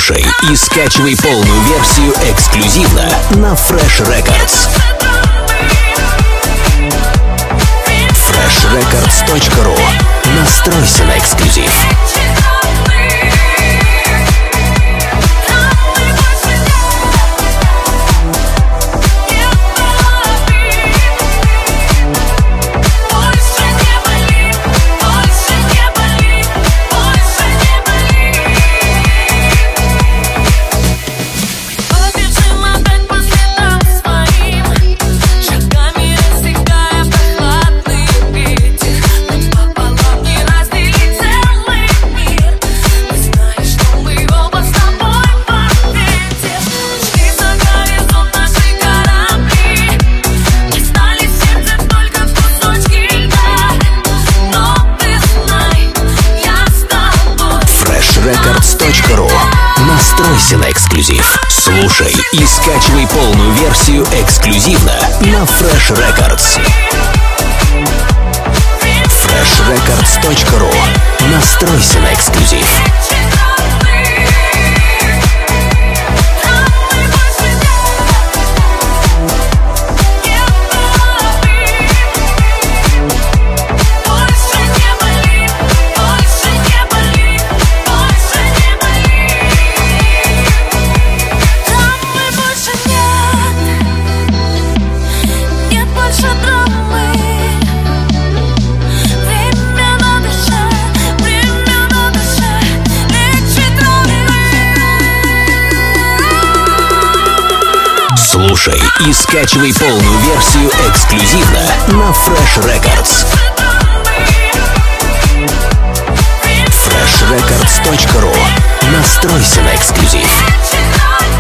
Слушай и скачивай полную версию эксклюзивно на Fresh Records. freshrecords.ru. Настройся на эксклюзив. freshrecords.ru. Настройся на эксклюзив. Слушай и скачивай полную версию эксклюзивно на Fresh Records. freshrecords.ru. Настройся на эксклюзив. Слушай и скачивай полную версию эксклюзивно на Fresh Records. freshrecords.ru. Настройся на эксклюзив.